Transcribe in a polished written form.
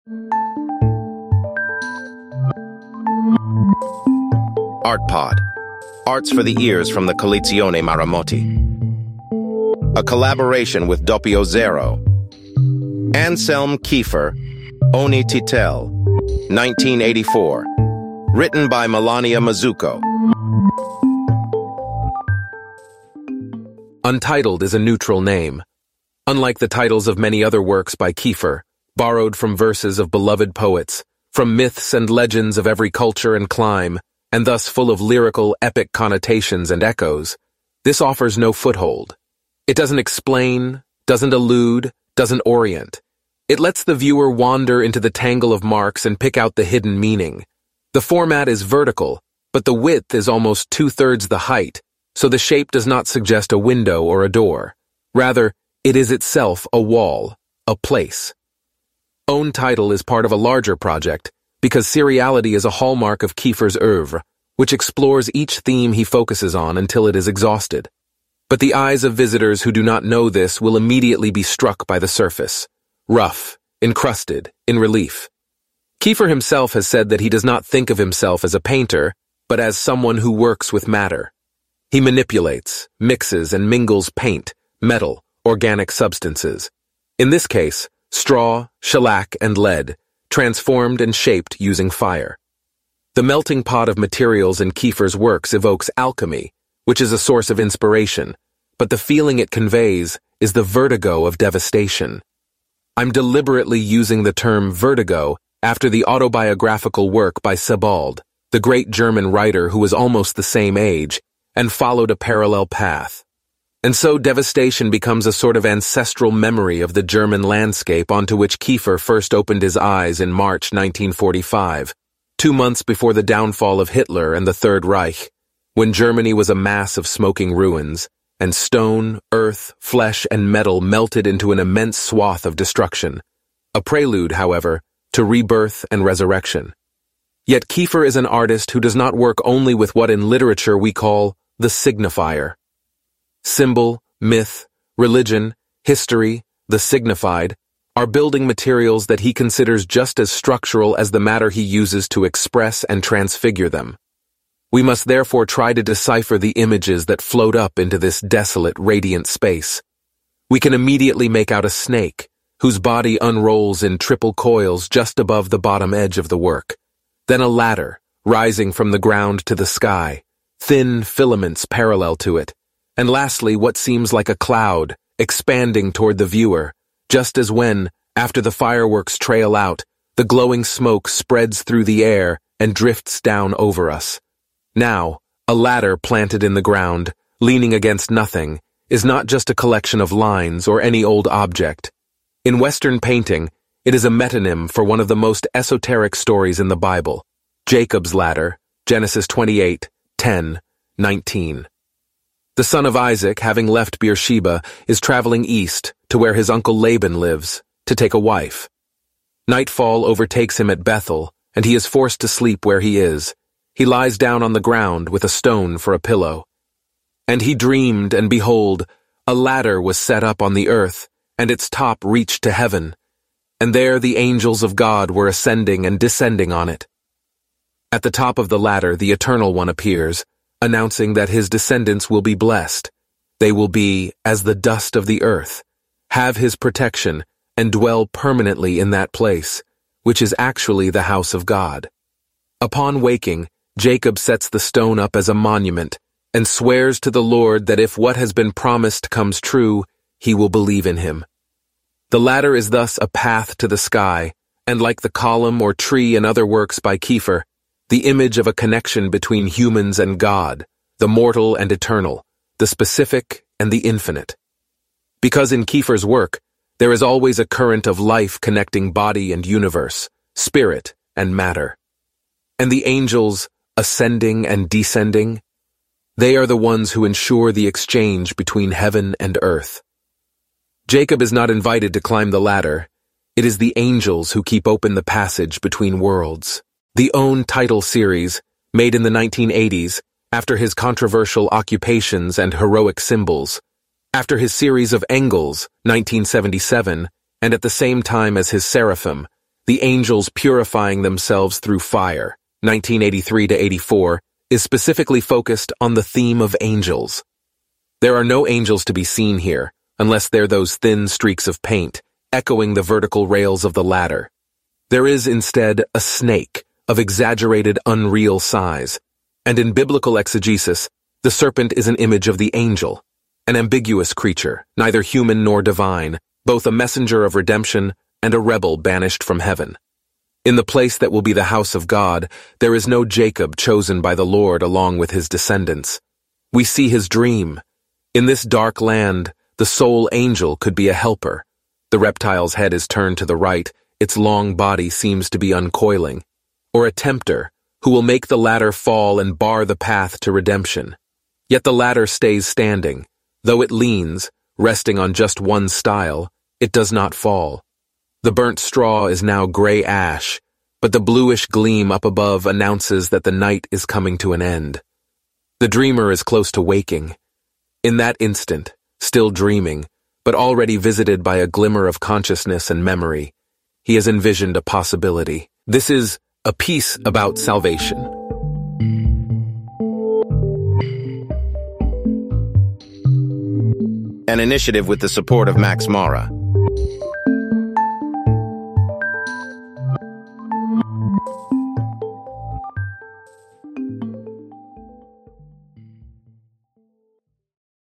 ArtPod. Arts for the Ears from the Collezione Maramotti. A collaboration with Doppio Zero. Anselm Kiefer, Oni Titel, 1984. Written by Melania Mazzucco. Untitled is a neutral name. Unlike the titles of many other works by Kiefer, borrowed from verses of beloved poets, from myths and legends of every culture and clime, and thus full of lyrical, epic connotations and echoes, this offers no foothold. It doesn't explain, doesn't allude, doesn't orient. It lets the viewer wander into the tangle of marks and pick out the hidden meaning. The format is vertical, but the width is almost 2/3 the height, so the shape does not suggest a window or a door. Rather, it is itself a wall, a place. Own Title is part of a larger project, because seriality is a hallmark of Kiefer's oeuvre, which explores each theme he focuses on until it is exhausted. But the eyes of visitors who do not know this will immediately be struck by the surface. Rough, encrusted, in relief. Kiefer himself has said that he does not think of himself as a painter, but as someone who works with matter. He manipulates, mixes, and mingles paint, metal, organic substances. In this case, straw, shellac, and lead, transformed and shaped using fire. The melting pot of materials in Kiefer's works evokes alchemy, which is a source of inspiration, but the feeling it conveys is the vertigo of devastation. I'm deliberately using the term vertigo after the autobiographical work by Sebald, the great German writer who was almost the same age and followed a parallel path. And so devastation becomes a sort of ancestral memory of the German landscape onto which Kiefer first opened his eyes in March 1945, 2 months before the downfall of Hitler and the Third Reich, when Germany was a mass of smoking ruins, and stone, earth, flesh, and metal melted into an immense swath of destruction. A prelude, however, to rebirth and resurrection. Yet Kiefer is an artist who does not work only with what in literature we call the signifier. Symbol, myth, religion, history, the signified, are building materials that he considers just as structural as the matter he uses to express and transfigure them. We must therefore try to decipher the images that float up into this desolate, radiant space. We can immediately make out a snake, whose body unrolls in triple coils just above the bottom edge of the work. Then a ladder, rising from the ground to the sky, thin filaments parallel to it. And lastly, what seems like a cloud, expanding toward the viewer, just as when, after the fireworks trail out, the glowing smoke spreads through the air and drifts down over us. Now, a ladder planted in the ground, leaning against nothing, is not just a collection of lines or any old object. In Western painting, it is a metonym for one of the most esoteric stories in the Bible, Jacob's ladder, Genesis 28:10-19. The son of Isaac, having left Beersheba, is traveling east to where his uncle Laban lives, to take a wife. Nightfall overtakes him at Bethel, and he is forced to sleep where he is. He lies down on the ground with a stone for a pillow. And he dreamed, and behold, a ladder was set up on the earth, and its top reached to heaven. And there the angels of God were ascending and descending on it. At the top of the ladder, the Eternal One appears, announcing that his descendants will be blessed. They will be as the dust of the earth, have his protection, and dwell permanently in that place, which is actually the house of God. Upon waking, Jacob sets the stone up as a monument and swears to the Lord that if what has been promised comes true, he will believe in him. The ladder is thus a path to the sky, and like the column or tree in other works by Kiefer, the image of a connection between humans and God, the mortal and eternal, the specific and the infinite. Because in Kiefer's work, there is always a current of life connecting body and universe, spirit and matter. And the angels, ascending and descending, they are the ones who ensure the exchange between heaven and earth. Jacob is not invited to climb the ladder. It is the angels who keep open the passage between worlds. The Own Title series, made in the 1980s, after his controversial occupations and heroic symbols, after his series of Engels, 1977, and at the same time as his Seraphim, The Angels Purifying Themselves Through Fire, 1983-84, is specifically focused on the theme of angels. There are no angels to be seen here, unless they're those thin streaks of paint, echoing the vertical rails of the ladder. There is instead a snake of exaggerated, unreal size, and in biblical exegesis, the serpent is an image of the angel, an ambiguous creature, neither human nor divine, both a messenger of redemption and a rebel banished from heaven. In the place that will be the house of God, there is no Jacob chosen by the Lord along with his descendants. We see his dream. In this dark land, the sole angel could be a helper. The reptile's head is turned to the right, its long body seems to be uncoiling. Or a tempter, who will make the ladder fall and bar the path to redemption. Yet the ladder stays standing. Though it leans, resting on just one stile, it does not fall. The burnt straw is now gray ash, but the bluish gleam up above announces that the night is coming to an end. The dreamer is close to waking. In that instant, still dreaming, but already visited by a glimmer of consciousness and memory, he has envisioned a possibility. This is A Piece About Salvation. An initiative with the support of Max Mara.